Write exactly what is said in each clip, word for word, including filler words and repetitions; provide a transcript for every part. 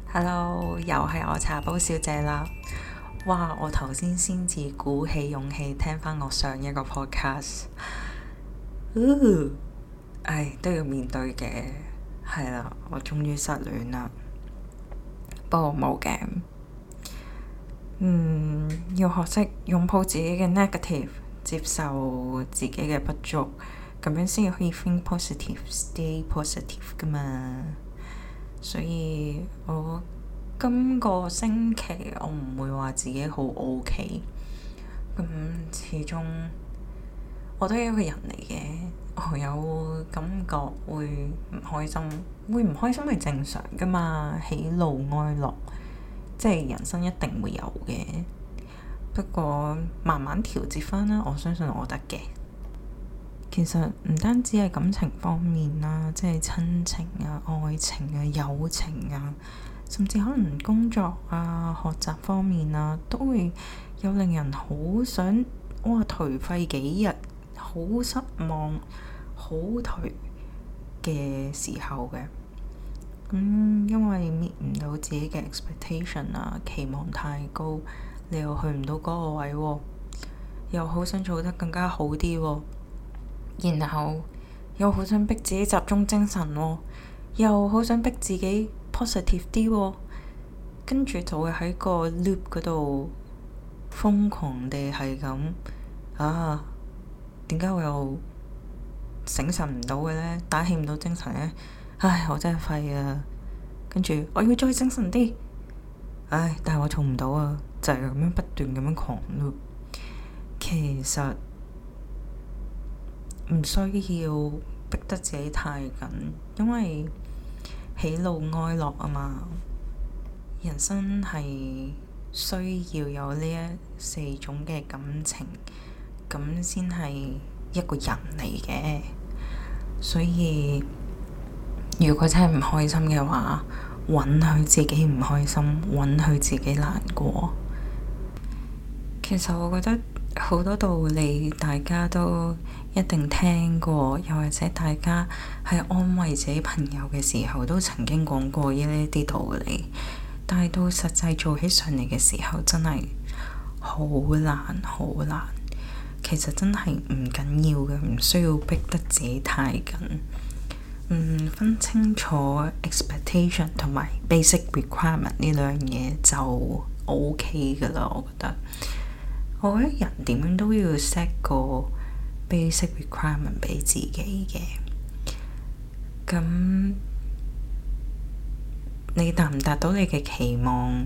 Hello，又係我茶煲小姐啦。哇！我頭先先至鼓起勇氣聽翻我上一個 podcast，嗚，唉，都要面對嘅。係啦，我終於失戀啦。不過冇嘅，嗯，要學識擁抱自己嘅 negative，接受自己嘅不足，咁樣先可以 think positive，stay positive 噶嘛。所以我今個星期我唔會話自己好 OK，咁始終我都係一個人嚟嘅，我有感覺會唔開心，會唔開心係正常噶嘛，喜怒哀樂，即係人生一定會有嘅。不過慢慢調節返啦，我相信我得嘅。其實唔單止係感情方面啦，即係親情啊、愛情啊、友情啊，甚至可能工作啊、學習方面啊，都會有令人好想哇頹廢幾日、好失望、好頹嘅時候嘅。咁、嗯、因為 meet 唔到自己嘅 expectation 啊，期望太高，你又去唔到嗰個位喎、啊，又好想做得更加好啲喎、啊。然後又好想逼自己集中精神喎、哦，又好想逼自己 positive 啲喎、哦，跟住就會喺個 loop 嗰度瘋狂地係咁啊！點解我又醒神唔到嘅呢？打起唔到精神呢？唉，我真係廢啊！跟住我要再精神啲，唉，但係我做唔到啊！就係、是、咁樣不斷咁樣狂 loop。其實唔需要逼得自己太緊，因為喜怒哀樂啊嘛。人生係需要有呢一四種嘅感情，咁先係一個人嚟嘅。所以如果真係唔開心嘅話，允許自己唔開心，允許自己難過。其實我覺得好多道理大家都一定聽過，又或者大家喺安慰自己朋友嘅時候都曾經講過呢啲道理，但係到實際做起上嚟嘅時候真係好難好難。其實真係唔緊要嘅，唔需要逼得自己太緊。嗯，分清楚 expectation 同埋 basic requirement 呢兩嘢就 OK 噶啦，我覺得。我覺得人點樣都要 set 個 basic requirement 俾自己嘅。咁你達唔達到你嘅期望，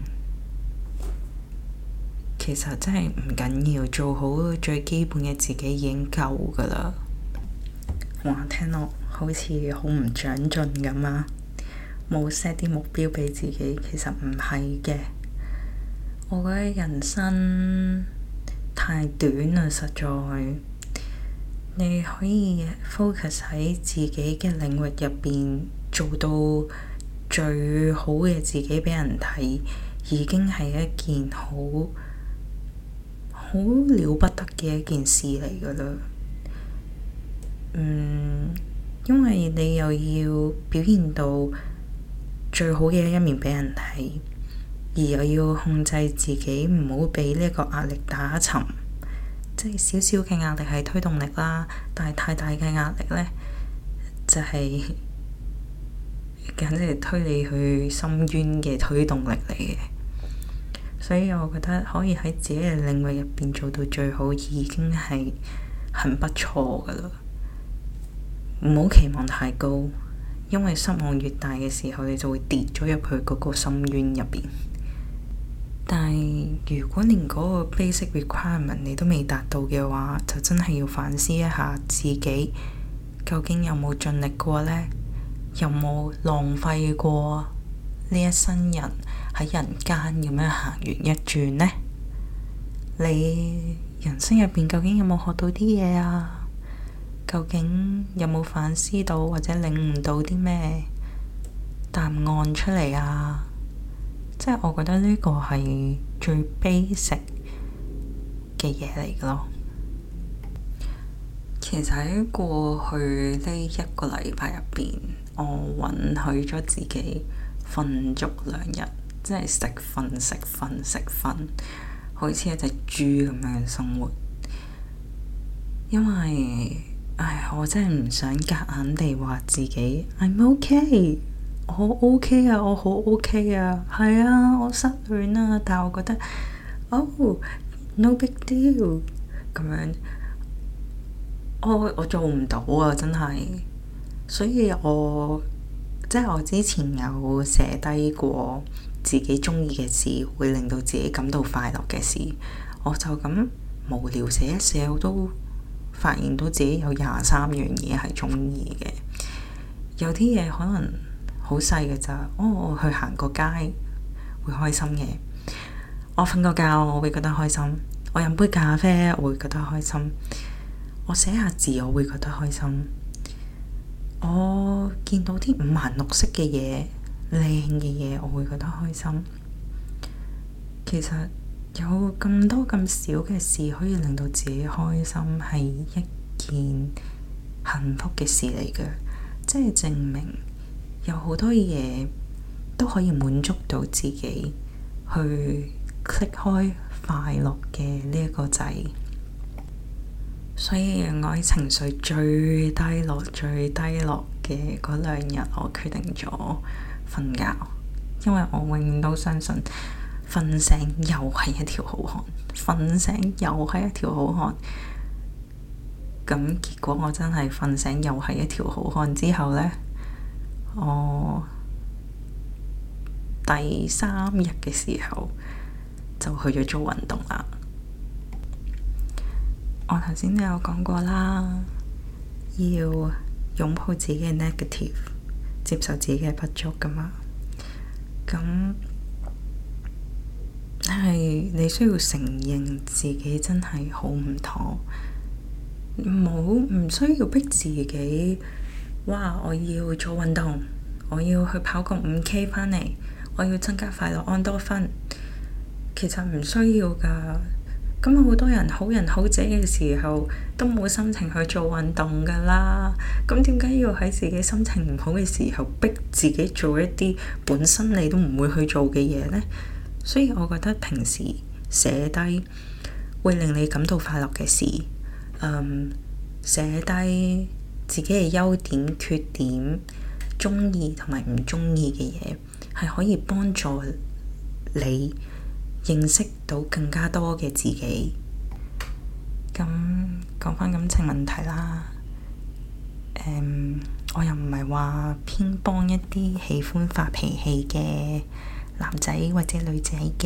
其實真係唔緊要，做好最基本嘅自己已經夠噶啦。哇，聽落好似好唔長進咁啊！冇 set 啲目標俾自己，其實唔係嘅。我覺得人生太短啦，實在。你可以 focus 喺自己嘅領域入邊，做到最好嘅自己俾人睇，已經係一件好好了不得嘅一件事嚟噶啦。嗯，因為你又要表現到最好嘅一面俾人睇，而又要控制自己唔好俾呢個壓力打沉。即係少少嘅壓力係推動力啦，但係太大嘅壓力呢，就係、是、簡直係推你去深淵嘅推動力嚟嘅。所以我覺得可以喺自己嘅領域入邊做到最好，已經係很不錯噶啦。唔好期望太高，因為失望越大嘅時候，你就會跌咗入去嗰個深淵入邊。但係如果連嗰個 basic requirement 你都未達到嘅話，就真係要反思一下自己究竟有冇盡力過呢？有冇浪費過呢一生人喺人間咁樣行完一轉呢？你人生入邊究竟有冇學到啲嘢啊？究竟有冇反思到或者領悟到啲咩答案出嚟啊？即係我覺得呢個係最 basic 嘅嘢嚟嘅咯。其實喺過去呢一個禮拜入邊，我允許咗自己瞓足兩日，即係食瞓食瞓食瞓，好似一隻豬咁樣嘅生活。因為唉，我真係唔想夾硬地話自己 I'm OK， 我 OK 啊，我好 OK 啊，係啊，我失戀啊，但係我覺得哦 no big deal 咁樣，我我做唔到啊，真係。所以我即係我之前有寫低過自己中意嘅事，會令到自己感到快樂嘅事，我就咁無聊寫一寫，我都發現到自己有廿三樣嘢係中意嘅。有啲嘢可能好細嘅咋，哦，我去行個街會開心嘅，我瞓個覺我會覺得開心，我飲杯咖啡我會覺得開心，我寫下字我會覺得開心，我見到啲五顏六色嘅嘢，靚嘅嘢我會覺得開心。其實有咁多咁少嘅事可以令到自己開心，係一件幸福嘅事嚟嘅，即係證明有好多嘢都可以滿足到自己，去 click 開快樂嘅呢一個掣。所以我喺情緒最低落、最低落嘅嗰兩日，我決定咗瞓覺，因為我永遠都相信瞓醒又係一條好漢，瞓醒又係一條好漢。咁結果我真係瞓醒又係一條好漢之後呢，我第三日嘅時候就去咗做運動啦。我頭先都有講過啦，要擁抱自己嘅 negative， 接受自己嘅不足㗎嘛。咁係你需要承認自己真係好唔妥，冇唔需要逼自己。哇！我要做運動，我要去跑個五 K 返嚟，我要增加快樂安多酚。其實唔需要㗎。咁好多人好人好姐嘅時候都冇心情去做運動㗎啦。咁點解要喺自己心情唔好嘅時候逼自己做一啲本身你都唔會去做嘅嘢呢？所以我覺得平時寫低會令你感到快樂嘅事，嗯，寫低自己嘅優點、缺點、鍾意同埋唔鍾意嘅嘢，係可以幫助你認識到更加多嘅自己。咁講返感情問題啦，嗯，我又唔係話偏幫一啲喜歡發脾氣嘅男仔或者女仔嘅，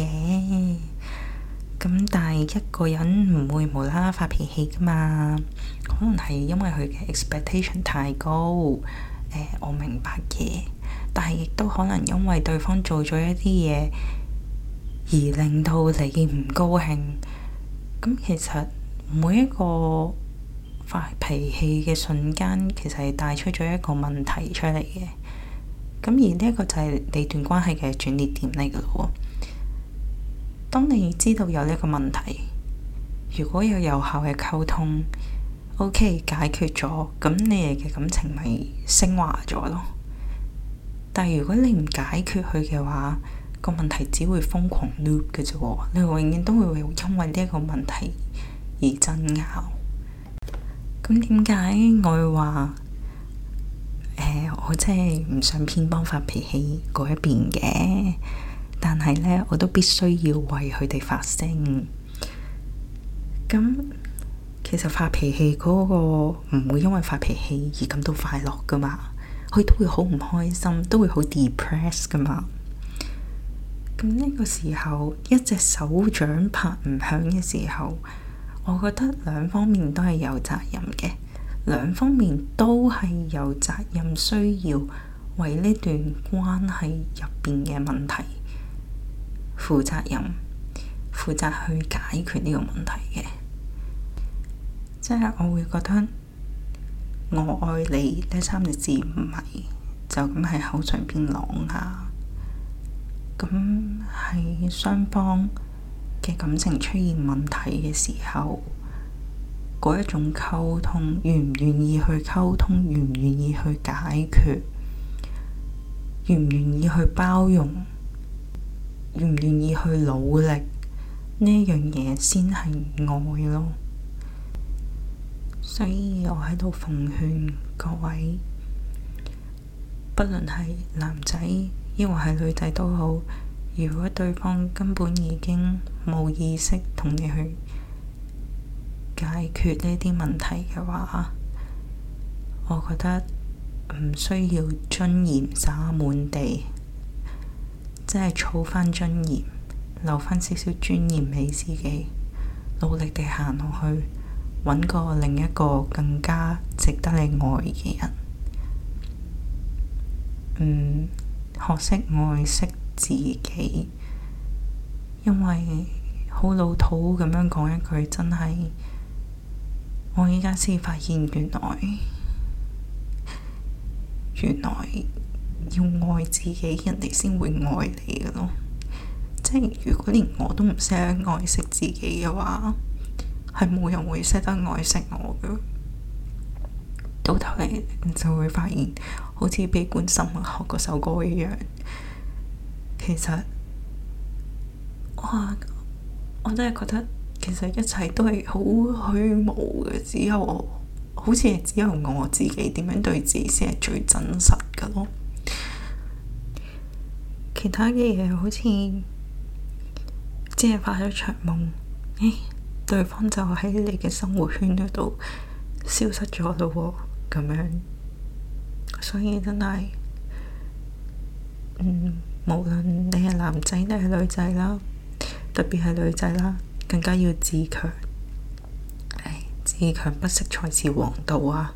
咁但係一個人唔會無啦啦發脾氣㗎嘛，可能係因為佢嘅 expectation 太高，誒、呃，我明白嘅，但係亦都可能因為對方做咗一啲嘢而令到你唔高興。咁其實每一個發脾氣嘅瞬間，其實係帶出咗一個問題出嚟嘅。咁而呢一個就係你段關係嘅轉捩點嚟㗎喎。當你知道有呢一個問題，如果有有效嘅溝通 ，OK 解決咗，咁你哋嘅感情咪升華咗咯。但係如果你唔解決佢嘅話，個問題只會瘋狂 loop 嘅啫喎，你永遠都會因為呢一個問題而爭拗。咁點解我會話誒、呃，我真係唔想偏幫發脾氣嗰一邊嘅，但係呢，我都必須要為佢哋發聲。咁其實發脾氣嗰個唔會因為發脾氣而感到快樂噶嘛，佢都會好唔開心，都會好 depress 噶嘛。咁呢個時候，一隻手掌拍唔響嘅時候，我覺得兩方面都係有責任嘅，兩方面都係有責任需要為呢段關係入邊嘅問題負責任，負責去解決呢個問題嘅。即係我會覺得我愛你呢三個字唔係就咁喺口上邊講下。咁係雙方嘅感情出現問題嘅時候，嗰一種溝通，願唔願意去溝通，願唔願意去解決， 願唔願意去包容，願唔願意去努力，呢樣嘢先係愛咯。所以我喺度奉勸各位，不論係男仔抑或係女仔都好，如果對方根本已經冇意識同你去解決呢啲問題嘅話，我覺得唔需要尊嚴灑滿地，即係儲返尊嚴，留返少少尊嚴俾自己，努力地行落去，揾個另一個更加值得你愛嘅人。嗯，學識愛惜自己，因為好老土咁樣講一句，真係我依家先發現，原來原來要愛自己，人哋先會愛你嘅咯。即係如果連我都唔識得愛惜自己嘅話，係冇人會識得愛惜我嘅。到頭嚟你就會發現，好似悲觀生物學嗰首歌一樣，其實哇，我真係覺得其實一切都係好虛無嘅，只有我好似係只有我自己點樣對自己先係最真實嘅咯。其他嘅嘢好似只係發咗場夢，誒，對方就喺你嘅生活圈嗰度消失咗咯喎，咁樣。所以真係，嗯，無論你係男仔定係女仔啦，特別係女仔啦，更加要自強。唉，自強不息才是王道啊！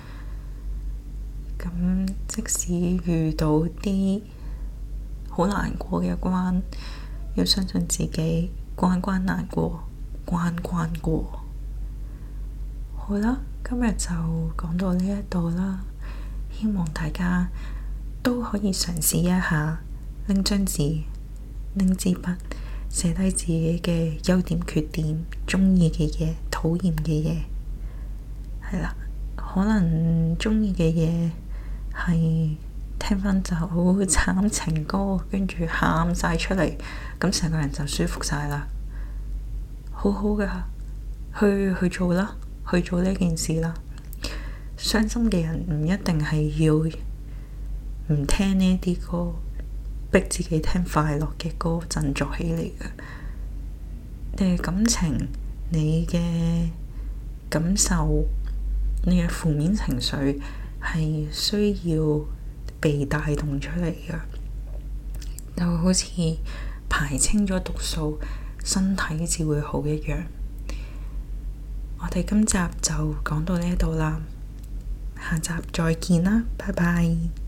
咁即使遇到啲好難過嘅關，要相信自己，關關難過，關關過。好啦，今日就講到呢一度啦。希望大家都可以嘗試一下，拎張紙，拎支筆，寫低自己嘅優點、缺點、鍾意嘅嘢、討厭嘅嘢。係啦，可能鍾意嘅嘢係聽返就好慘情歌，跟住喊晒出嚟，咁成個人就舒服晒啦。好好㗎，去去做啦，去做呢件事啦。傷心嘅人唔一定係要唔聽呢啲歌，逼自己聽快樂嘅歌振作起嚟嘅。你嘅感情，你嘅感受，你嘅負面情緒係需要被帶動出嚟嘅，就好似排清咗毒素，身體至會好一樣。我哋今集就講到呢度啦。下集再見啦，拜拜。